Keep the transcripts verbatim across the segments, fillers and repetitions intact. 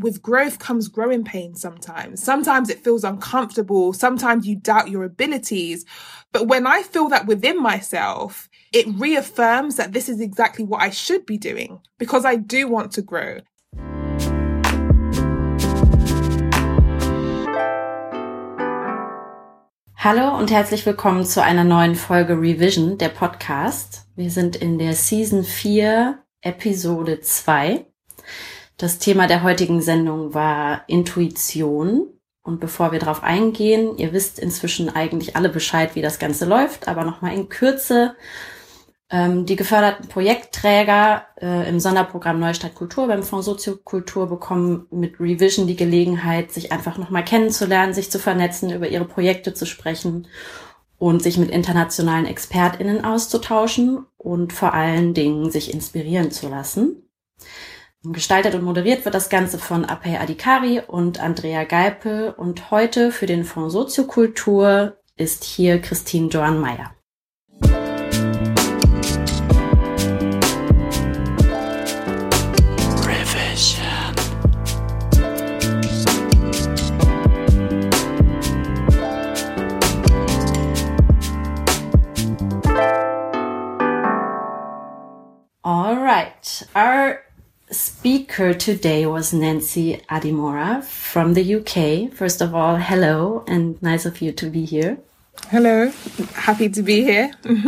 with growth comes growing pains sometimes. Sometimes it feels uncomfortable. Sometimes you doubt your abilities. But when I feel that within myself, it reaffirms that this is exactly what I should be doing because I do want to grow. Hallo und herzlich willkommen zu einer neuen Folge Revision, der Podcast. Wir sind in der Season vier, Episode zwei. Das Thema der heutigen Sendung war Intuition. Und bevor wir darauf eingehen, ihr wisst inzwischen eigentlich alle Bescheid, wie das Ganze läuft, aber nochmal in Kürze. Ähm, die geförderten Projektträger äh, im Sonderprogramm Neustadt Kultur beim Fonds Soziokultur bekommen mit Revision die Gelegenheit, sich einfach nochmal kennenzulernen, sich zu vernetzen, über ihre Projekte zu sprechen und sich mit internationalen ExpertInnen auszutauschen und vor allen Dingen sich inspirieren zu lassen. Gestaltet und moderiert wird das Ganze von Apey Adhikari und Andrea Geipel und heute für den Fonds Soziokultur ist hier Christine Johann-Meyer. All right. Our speaker today was Nancy Adimora from the U K. First of all, hello, and nice of you to be here. Hello. Happy to be here.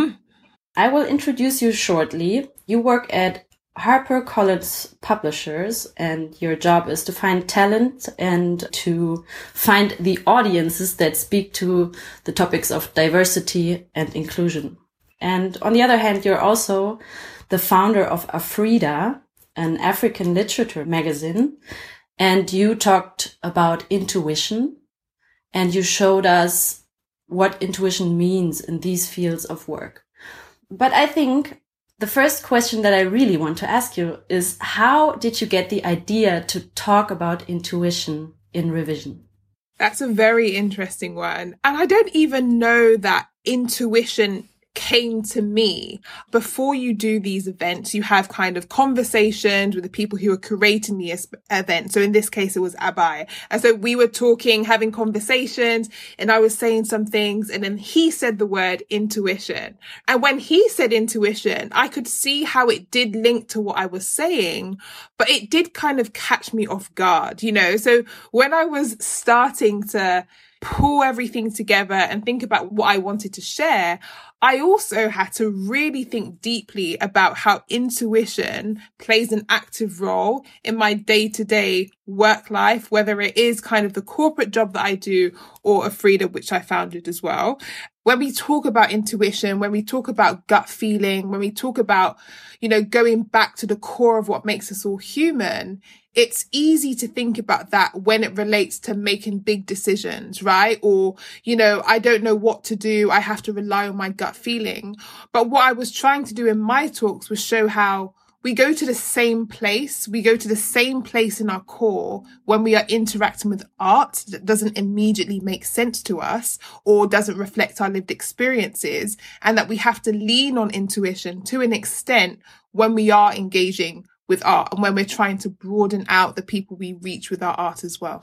I will introduce you shortly. You work at HarperCollins Publishers, and your job is to find talent and to find the audiences that speak to the topics of diversity and inclusion. And on the other hand, you're also the founder of Afrida, an African literature magazine, and you talked about intuition, and you showed us what intuition means in these fields of work. But I think the first question that I really want to ask you is, how did you get the idea to talk about intuition in Revision? That's a very interesting one. And I don't even know that intuition came to me. Before you do these events, you have kind of conversations with the people who are curating the event. So in this case, it was Abai. And so we were talking, having conversations, and I was saying some things, and then he said the word intuition. And when he said intuition, I could see how it did link to what I was saying, but it did kind of catch me off guard, you know? So when I was starting to pull everything together and think about what I wanted to share, I also had to really think deeply about how intuition plays an active role in my day-to-day work life, whether it is kind of the corporate job that I do or Afrida, which I founded as well. When we talk about intuition, when we talk about gut feeling, when we talk about, you know, going back to the core of what makes us all human, it's easy to think about that when it relates to making big decisions, right? Or, you know, I don't know what to do. I have to rely on my gut feeling. But what I was trying to do in my talks was show how we go to the same place. We go to the same place in our core when we are interacting with art that doesn't immediately make sense to us or doesn't reflect our lived experiences, and that we have to lean on intuition to an extent when we are engaging with art and when we're trying to broaden out the people we reach with our art as well.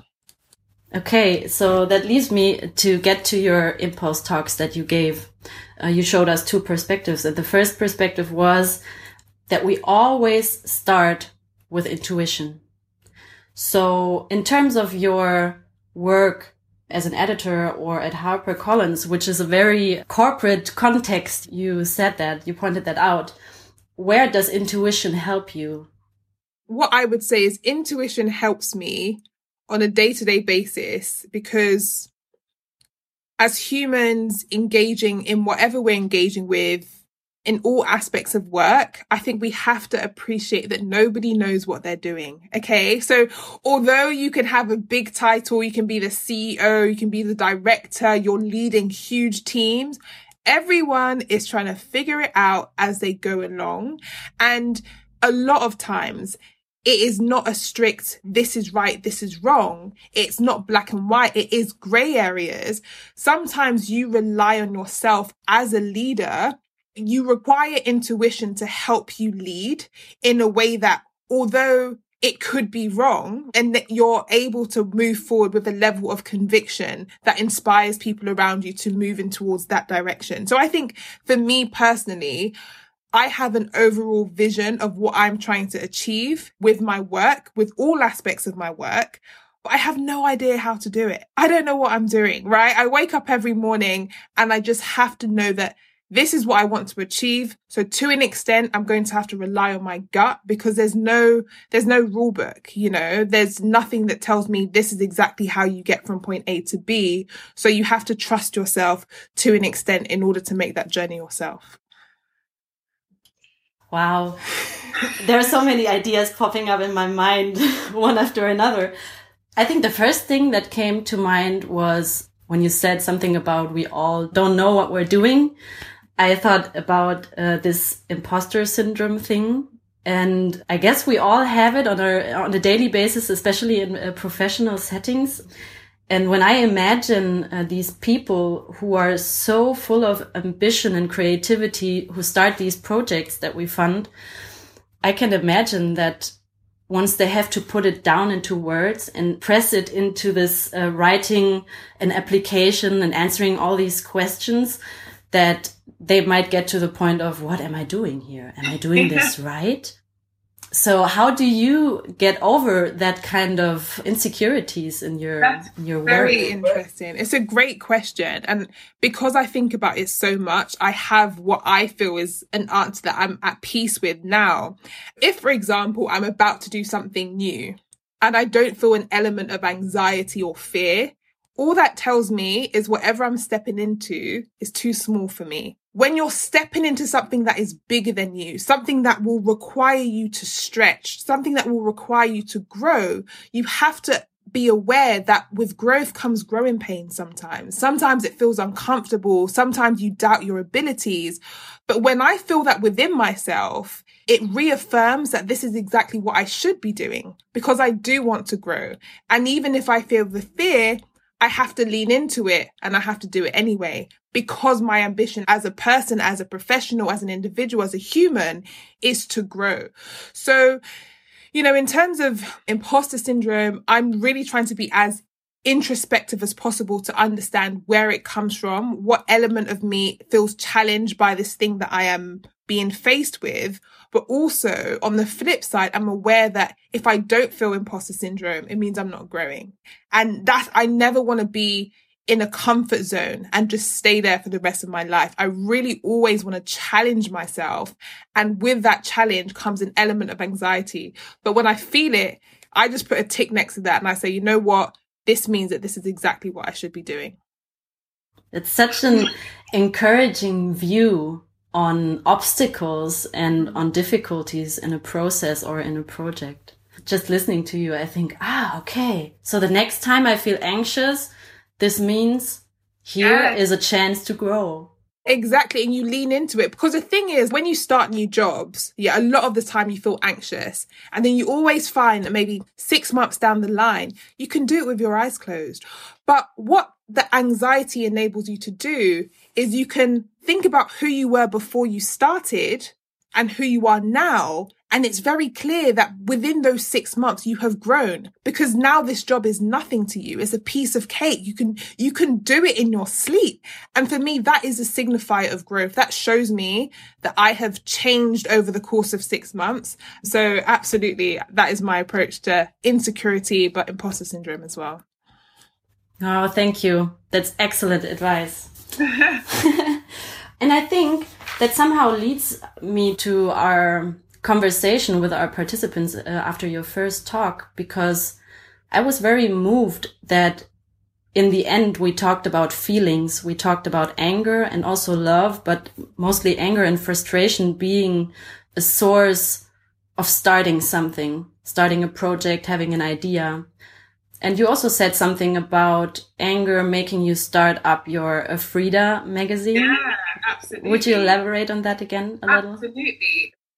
Okay, so that leads me to get to your impulse talks that you gave. Uh, you showed us two perspectives. And the first perspective was that we always start with intuition. So in terms of your work as an editor or at HarperCollins, which is a very corporate context, you said that, you pointed that out. Where does intuition help you? What I would say is intuition helps me on a day-to-day basis because as humans engaging in whatever we're engaging with, in all aspects of work, I think we have to appreciate that nobody knows what they're doing. Okay. So although you can have a big title, you can be the C E O, you can be the director, you're leading huge teams, everyone is trying to figure it out as they go along. And a lot of times it is not a strict, this is right, this is wrong. It's not black and white. It is gray areas. Sometimes you rely on yourself as a leader. You require intuition to help you lead in a way that, although it could be wrong, and that you're able to move forward with a level of conviction that inspires people around you to move in towards that direction. So I think for me personally, I have an overall vision of what I'm trying to achieve with my work, with all aspects of my work, but I have no idea how to do it. I don't know what I'm doing, right? I wake up every morning and I just have to know that this is what I want to achieve. So to an extent, I'm going to have to rely on my gut, because there's no, there's no rule book, you know, there's nothing that tells me this is exactly how you get from point A to B. So you have to trust yourself to an extent in order to make that journey yourself. Wow. There are so many ideas popping up in my mind, one after another. I think the first thing that came to mind was when you said something about we all don't know what we're doing. I thought about uh, this imposter syndrome thing. And I guess we all have it on a, on a daily basis, especially in uh, professional settings. And when I imagine uh, these people who are so full of ambition and creativity, who start these projects that we fund, I can imagine that once they have to put it down into words and press it into this uh, writing an application and answering all these questions, that they might get to the point of, what am I doing here? Am I doing this right? So how do you get over that kind of insecurities in your, That's in your work? Very interesting. It's a great question. And because I think about it so much, I have what I feel is an answer that I'm at peace with now. If, for example, I'm about to do something new and I don't feel an element of anxiety or fear, all that tells me is whatever I'm stepping into is too small for me. When you're stepping into something that is bigger than you, something that will require you to stretch, something that will require you to grow, you have to be aware that with growth comes growing pains sometimes. Sometimes it feels uncomfortable. Sometimes you doubt your abilities. But when I feel that within myself, it reaffirms that this is exactly what I should be doing, because I do want to grow. And even if I feel the fear, I have to lean into it and I have to do it anyway, because my ambition as a person, as a professional, as an individual, as a human is to grow. So, you know, in terms of imposter syndrome, I'm really trying to be as introspective as possible to understand where it comes from, what element of me feels challenged by this thing that I am being faced with. But also on the flip side, I'm aware that if I don't feel imposter syndrome, it means I'm not growing. And that's, I never want to be in a comfort zone and just stay there for the rest of my life. I really always want to challenge myself. And with that challenge comes an element of anxiety. But when I feel it, I just put a tick next to that and I say, you know what? This means that this is exactly what I should be doing. It's such an encouraging view on obstacles and on difficulties in a process or in a project. Just listening to you, I think, ah, okay. So the next time I feel anxious, this means here Yeah. is a chance to grow. Exactly. And you lean into it, because the thing is, when you start new jobs, yeah, a lot of the time you feel anxious, and then you always find that maybe six months down the line, you can do it with your eyes closed. But what the anxiety enables you to do is you can think about who you were before you started and who you are now. And it's very clear that within those six months you have grown, because now this job is nothing to you. It's a piece of cake. You can, you can do it in your sleep. And for me, that is a signifier of growth. That shows me that I have changed over the course of six months. So absolutely, that is my approach to insecurity, but imposter syndrome as well. Oh, thank you. That's excellent advice. And I think that somehow leads me to our conversation with our participants uh, after your first talk, because I was very moved that in the end we talked about feelings. We talked about anger and also love, but mostly anger and frustration being a source of starting something, starting a project, having an idea. And you also said something about anger making you start up your uh, Frida magazine. Yeah, absolutely. Would you elaborate on that again a little? Absolutely.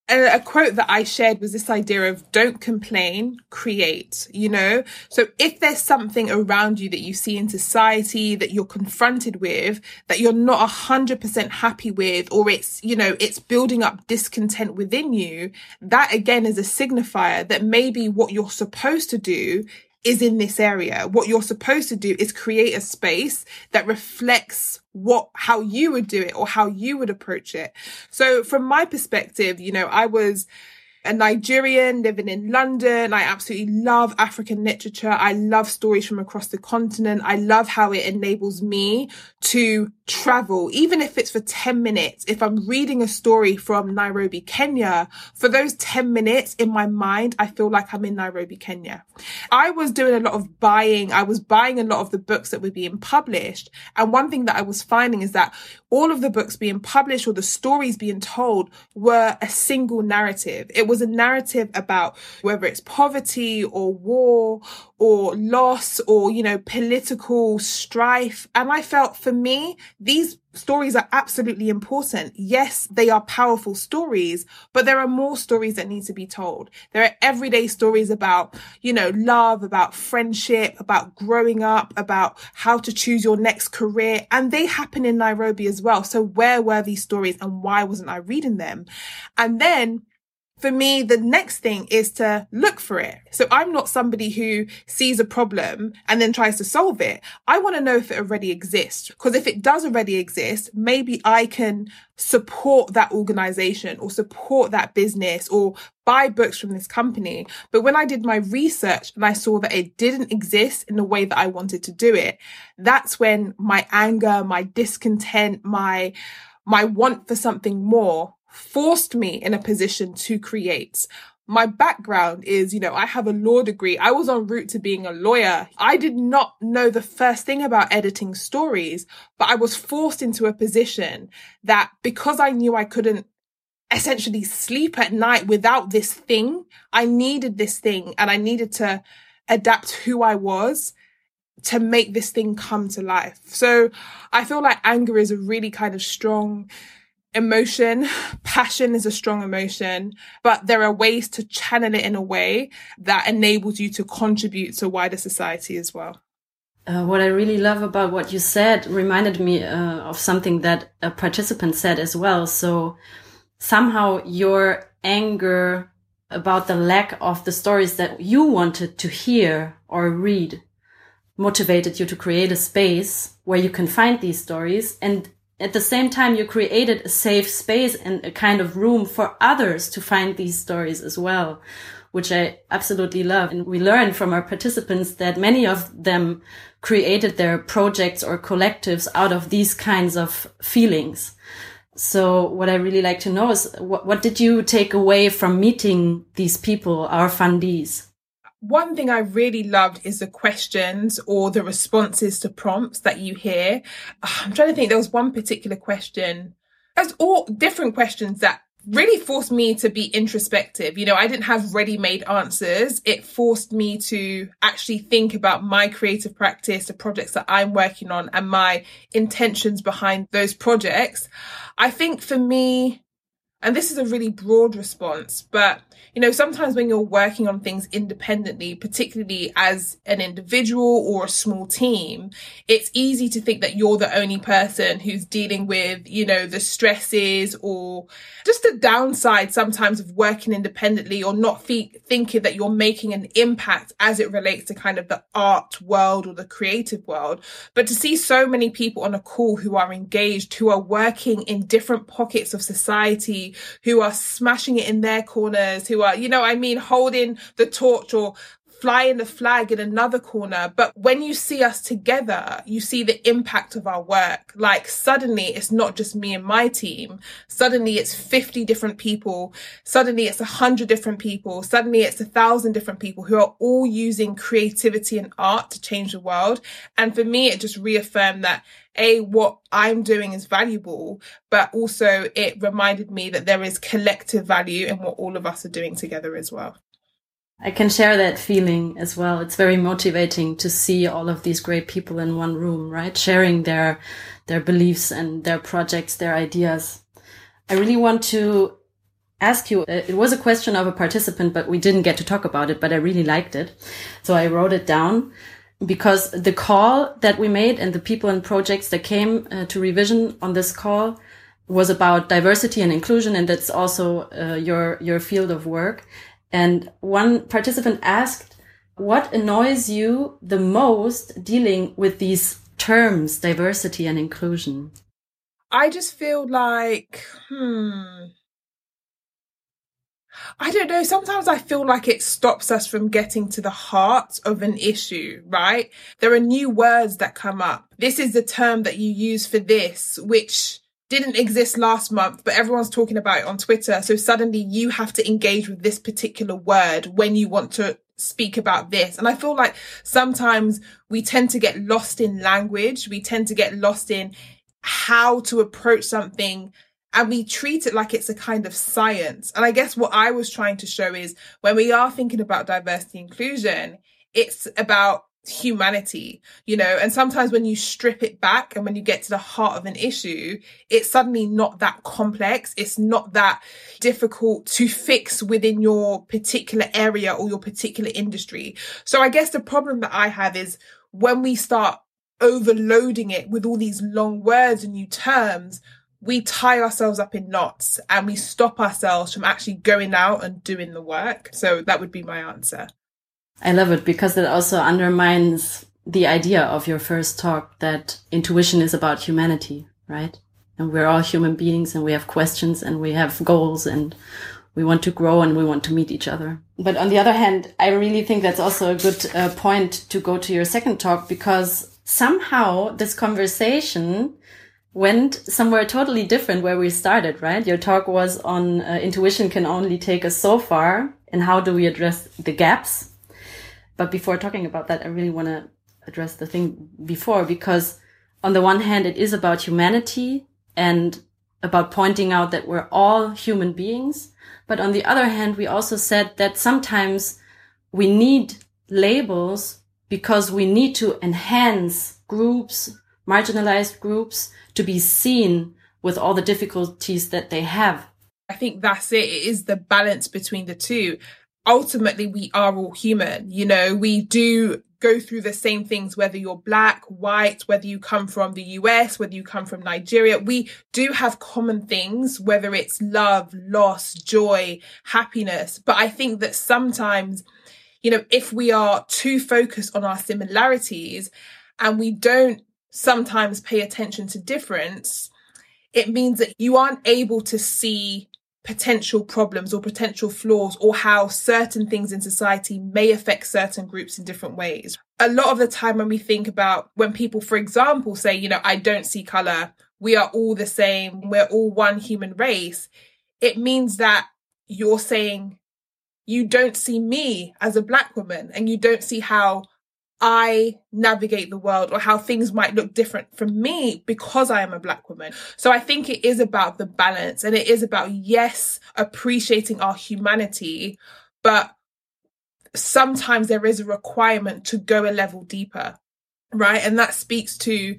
a, a quote that I shared was this idea of don't complain, create, you know? So if there's something around you that you see in society that you're confronted with, that you're not a hundred percent happy with, or it's, you know, it's building up discontent within you, that again is a signifier that maybe what you're supposed to do is in this area. What you're supposed to do is create a space that reflects what, how you would do it or how you would approach it. So from my perspective, you know, I was a Nigerian living in London. I absolutely love African literature. I love stories from across the continent. I love how it enables me to travel, even if it's for ten minutes. If I'm reading a story from Nairobi, Kenya, for those ten minutes in my mind, I feel like I'm in Nairobi, Kenya. I was doing a lot of buying. I was buying a lot of the books that were being published. And one thing that I was finding is that all of the books being published or the stories being told were a single narrative. It was a narrative about whether it's poverty or war or loss or, you know, political strife. And I felt for me, these stories are absolutely important. Yes, they are powerful stories, but there are more stories that need to be told. There are everyday stories about, you know, love, about friendship, about growing up, about how to choose your next career. And they happen in Nairobi as well. So where were these stories and why wasn't I reading them? And then for me, the next thing is to look for it. So I'm not somebody who sees a problem and then tries to solve it. I want to know if it already exists, because if it does already exist, maybe I can support that organization or support that business or buy books from this company. But when I did my research and I saw that it didn't exist in the way that I wanted to do it, that's when my anger, my discontent, my, my want for something more forced me in a position to create. My background is, you know, I have a law degree. I was en route to being a lawyer. I did not know the first thing about editing stories, but I was forced into a position that because I knew I couldn't essentially sleep at night without this thing, I needed this thing and I needed to adapt who I was to make this thing come to life. So I feel like anger is a really kind of strong emotion. Passion is a strong emotion, but there are ways to channel it in a way that enables you to contribute to wider society as well. Uh, what I really love about what you said reminded me uh, of something that a participant said as well. So somehow your anger about the lack of the stories that you wanted to hear or read motivated you to create a space where you can find these stories. And at the same time, you created a safe space and a kind of room for others to find these stories as well, which I absolutely love. And we learned from our participants that many of them created their projects or collectives out of these kinds of feelings. So what I really like to know is what, what did you take away from meeting these people, our fundees? One thing I really loved is the questions or the responses to prompts that you hear. I'm trying to think, there was one particular question. There's all different questions that really forced me to be introspective. You know, I didn't have ready-made answers. It forced me to actually think about my creative practice, the projects that I'm working on, and my intentions behind those projects. I think for me, and this is a really broad response, but, you know, sometimes when you're working on things independently, particularly as an individual or a small team, it's easy to think that you're the only person who's dealing with, you know, the stresses or just the downside sometimes of working independently or not fe- thinking that you're making an impact as it relates to kind of the art world or the creative world. But to see so many people on a call who are engaged, who are working in different pockets of society, who are smashing it in their corners, who are, you know, I mean, holding the torch or flying the flag in another corner. But when you see us together, you see the impact of our work. Like suddenly it's not just me and my team. Suddenly it's fifty different people. Suddenly it's a hundred different people. Suddenly it's a thousand different people who are all using creativity and art to change the world. And for me, it just reaffirmed that A, what I'm doing is valuable, but also it reminded me that there is collective value in what all of us are doing together as well. I can share that feeling as well. It's very motivating to see all of these great people in one room, right? Sharing their, their beliefs and their projects, their ideas. I really want to ask you, uh, it was a question of a participant, but we didn't get to talk about it, but I really liked it. So I wrote it down because the call that we made and the people and projects that came uh, to Revision on this call was about diversity and inclusion. And that's also uh, your, your field of work. And one participant asked, what annoys you the most dealing with these terms, diversity and inclusion? I just feel like, hmm, I don't know. Sometimes I feel like it stops us from getting to the heart of an issue, right? There are new words that come up. This is the term that you use for this, which didn't exist last month, but everyone's talking about it on Twitter. So suddenly you have to engage with this particular word when you want to speak about this. And I feel like sometimes we tend to get lost in language. We tend to get lost in how to approach something, and we treat it like it's a kind of science. And I guess what I was trying to show is when we are thinking about diversity inclusion, it's about humanity, you know, and sometimes when you strip it back and when you get to the heart of an issue, it's suddenly not that complex. It's not that difficult to fix within your particular area or your particular industry. So I guess the problem that I have is when we start overloading it with all these long words and new terms, we tie ourselves up in knots and we stop ourselves from actually going out and doing the work. So that would be my answer. I love it because it also undermines the idea of your first talk that intuition is about humanity, right? And we're all human beings and we have questions and we have goals and we want to grow and we want to meet each other. But on the other hand, I really think that's also a good uh, point to go to your second talk, because somehow this conversation went somewhere totally different where we started, right? Your talk was on uh, intuition can only take us so far and how do we address the gaps. But before talking about that, I really want to address the thing before, because on the one hand, it is about humanity and about pointing out that we're all human beings. But on the other hand, we also said that sometimes we need labels because we need to enhance groups, marginalized groups, to be seen with all the difficulties that they have. I think that's it. It is the balance between the two. Ultimately, we are all human. You know, we do go through the same things, whether you're black, white, whether you come from the U S, whether you come from Nigeria. We do have common things, whether it's love, loss, joy, happiness. But I think that sometimes, you know, if we are too focused on our similarities and we don't sometimes pay attention to difference, it means that you aren't able to see potential problems or potential flaws or how certain things in society may affect certain groups in different ways. A lot of the time when we think about when people, for example, say, you know, I don't see color, we are all the same, we're all one human race, it means that you're saying you don't see me as a black woman and you don't see how I navigate the world or how things might look different from me because I am a black woman. So I think it is about the balance, and it is about, yes, appreciating our humanity, but sometimes there is a requirement to go a level deeper, right? And that speaks to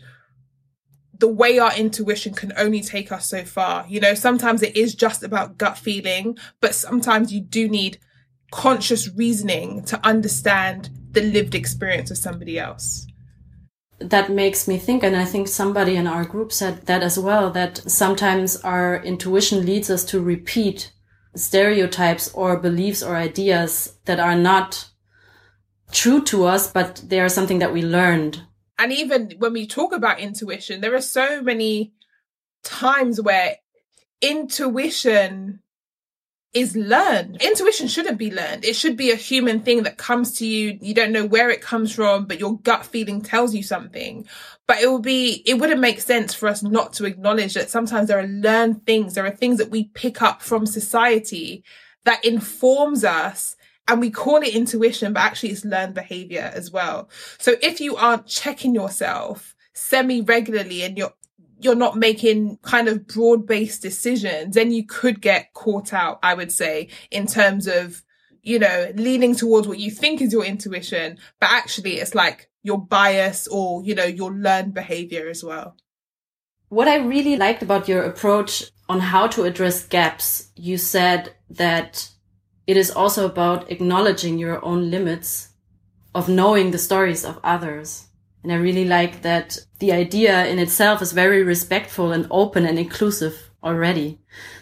the way our intuition can only take us so far. You know, sometimes it is just about gut feeling, but sometimes you do need conscious reasoning to understand the lived experience of somebody else. That makes me think, and I think somebody in our group said that as well, that sometimes our intuition leads us to repeat stereotypes or beliefs or ideas that are not true to us, but they are something that we learned. And even when we talk about intuition, there are so many times where intuition is learned. Intuition shouldn't be learned. It should be a human thing that comes to you. You don't know where it comes from, but your gut feeling tells you something. But it will be, it wouldn't make sense for us not to acknowledge that sometimes there are learned things. There are things that we pick up from society that informs us, and we call it intuition, but actually it's learned behavior as well. So if you aren't checking yourself semi-regularly and you're you're not making kind of broad-based decisions, then you could get caught out, I would say, in terms of, you know, leaning towards what you think is your intuition, but actually it's like your bias or, you know, your learned behavior as well. What I really liked about your approach on how to address gaps, you said that it is also about acknowledging your own limits, of knowing the stories of others. And I really like that the idea in itself is very respectful and open and inclusive already.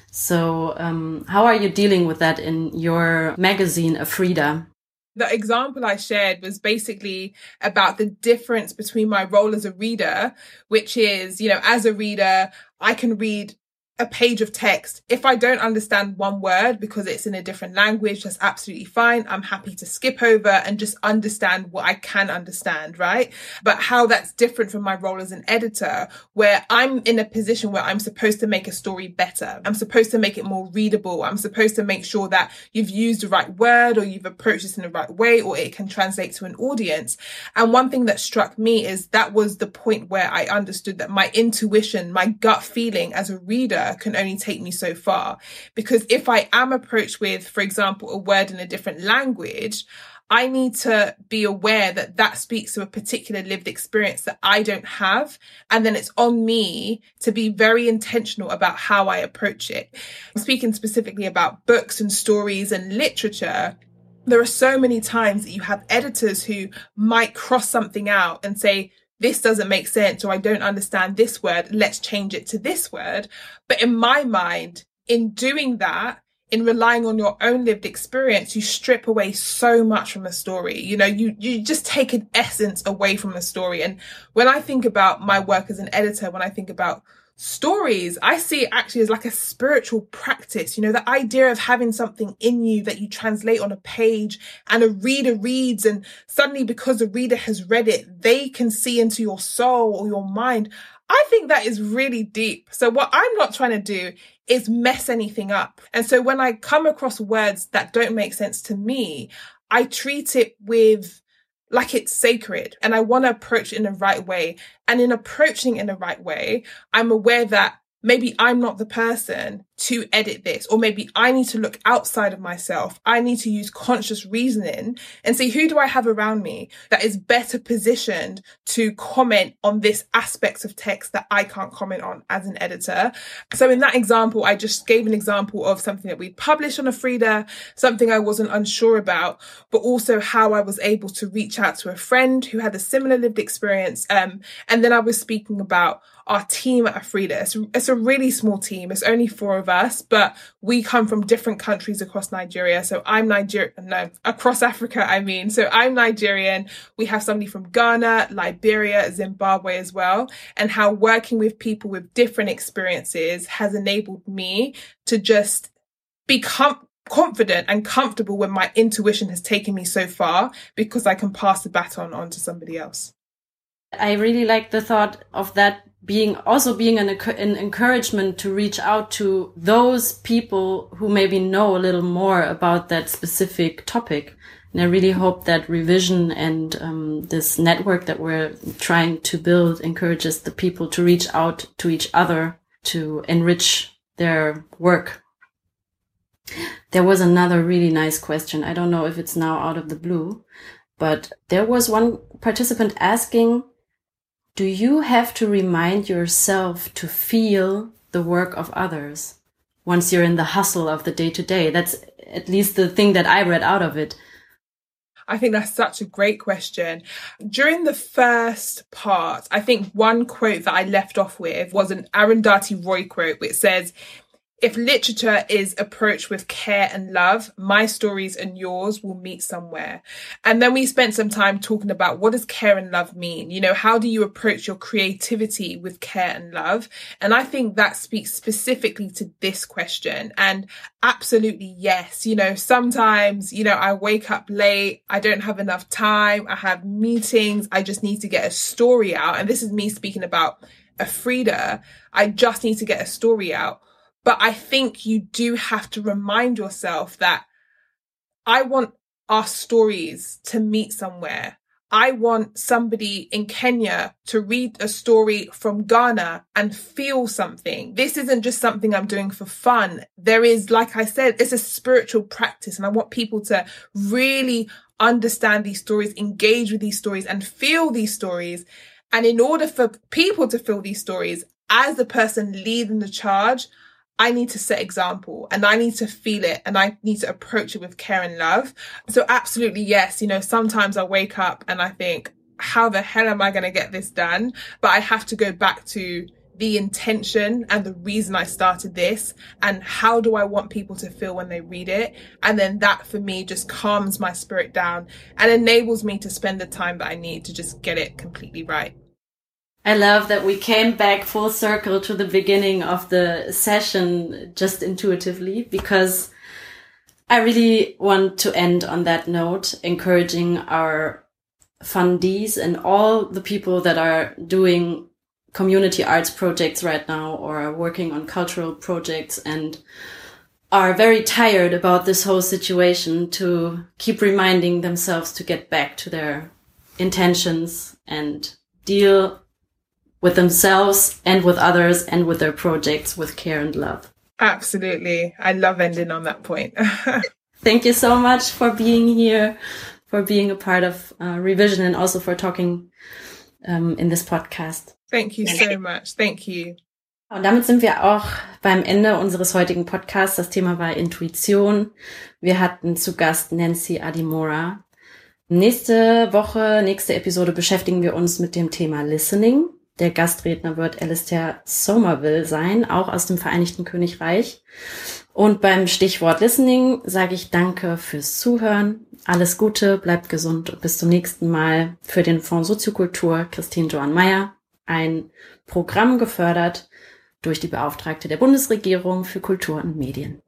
So um, how are you dealing with that in your magazine, Afrida? The example I shared was basically about the difference between my role as a reader, which is, you know, as a reader, I can read a page of text. If I don't understand one word because it's in a different language, that's absolutely fine. I'm happy to skip over and just understand what I can understand, right? But how that's different from my role as an editor, where I'm in a position where I'm supposed to make a story better. I'm supposed to make it more readable. I'm supposed to make sure that you've used the right word or you've approached this in the right way, or it can translate to an audience. And one thing that struck me is that was the point where I understood that my intuition, my gut feeling as a reader can only take me so far. Because if I am approached with, for example, a word in a different language, I need to be aware that that speaks to a particular lived experience that I don't have. And then it's on me to be very intentional about how I approach it. I'm speaking specifically about books and stories and literature. There are so many times that you have editors who might cross something out and say, this doesn't make sense, or I don't understand this word, let's change it to this word. But in my mind, in doing that, in relying on your own lived experience, you strip away so much from a story. You know, you, you just take an essence away from a story. And when I think about my work as an editor, when I think about stories, I see it actually as like a spiritual practice. You know, the idea of having something in you that you translate on a page and a reader reads, and suddenly because the reader has read it, they can see into your soul or your mind. I think that is really deep. So what I'm not trying to do is mess anything up. And so when I come across words that don't make sense to me, I treat it with like it's sacred, and I want to approach it in the right way. And in approaching it in the right way, I'm aware that maybe I'm not the person to edit this, or maybe I need to look outside of myself. I need to use conscious reasoning and see, who do I have around me that is better positioned to comment on this aspect of text that I can't comment on as an editor. So in that example, I just gave an example of something that we published on Afrida, something I wasn't unsure about, but also how I was able to reach out to a friend who had a similar lived experience. Um, and then I was speaking about our team at Afrida. It's, it's a really small team. It's only four of us, but we come from different countries across Nigeria. So I'm Nigerian, no, across Africa, I mean. So I'm Nigerian. We have somebody from Ghana, Liberia, Zimbabwe as well. And how working with people with different experiences has enabled me to just become confident and comfortable when my intuition has taken me so far, because I can pass the baton on to somebody else. I really like the thought of that being also being an, an encouragement to reach out to those people who maybe know a little more about that specific topic. And I really hope that Revision and um, this network that we're trying to build encourages the people to reach out to each other to enrich their work. There was another really nice question. I don't know if it's now out of the blue, but there was one participant asking, do you have to remind yourself to feel the work of others once you're in the hustle of the day-to-day? That's at least the thing that I read out of it. I think that's such a great question. During the first part, I think one quote that I left off with was an Arundhati Roy quote, which says, if literature is approached with care and love, my stories and yours will meet somewhere. And then we spent some time talking about, what does care and love mean? You know, how do you approach your creativity with care and love? And I think that speaks specifically to this question. And absolutely, yes. You know, sometimes, you know, I wake up late, I don't have enough time, I have meetings, I just need to get a story out. And this is me speaking about Afrida. I just need to get a story out. But I think you do have to remind yourself that I want our stories to meet somewhere. I want somebody in Kenya to read a story from Ghana and feel something. This isn't just something I'm doing for fun. There is, like I said, it's a spiritual practice, and I want people to really understand these stories, engage with these stories, and feel these stories. And in order for people to feel these stories, as the person leading the charge, I need to set example and I need to feel it and I need to approach it with care and love. So absolutely, yes. You know, sometimes I wake up and I think, how the hell am I going to get this done? But I have to go back to the intention and the reason I started this and how do I want people to feel when they read it. And then that for me just calms my spirit down and enables me to spend the time that I need to just get it completely right. I love that we came back full circle to the beginning of the session just intuitively, because I really want to end on that note, encouraging our fundees and all the people that are doing community arts projects right now or are working on cultural projects and are very tired about this whole situation to keep reminding themselves to get back to their intentions and deal with themselves and with others and with their projects with care and love. Absolutely. I love ending on that point. Thank you so much for being here, for being a part of uh, Revision and also for talking um, in this podcast. Thank you so much. Thank you. Und damit sind wir auch beim Ende unseres heutigen Podcasts. Das Thema war Intuition. Wir hatten zu Gast Nancy Adimora. Nächste Woche, nächste Episode beschäftigen wir uns mit dem Thema Listening. Der Gastredner wird Alistair Somerville sein, auch aus dem Vereinigten Königreich. Und beim Stichwort Listening sage ich danke fürs Zuhören. Alles Gute, bleibt gesund und bis zum nächsten Mal. Für den Fonds Soziokultur Christine Johann Meyer. Ein Programm gefördert durch die Beauftragte der Bundesregierung für Kultur und Medien.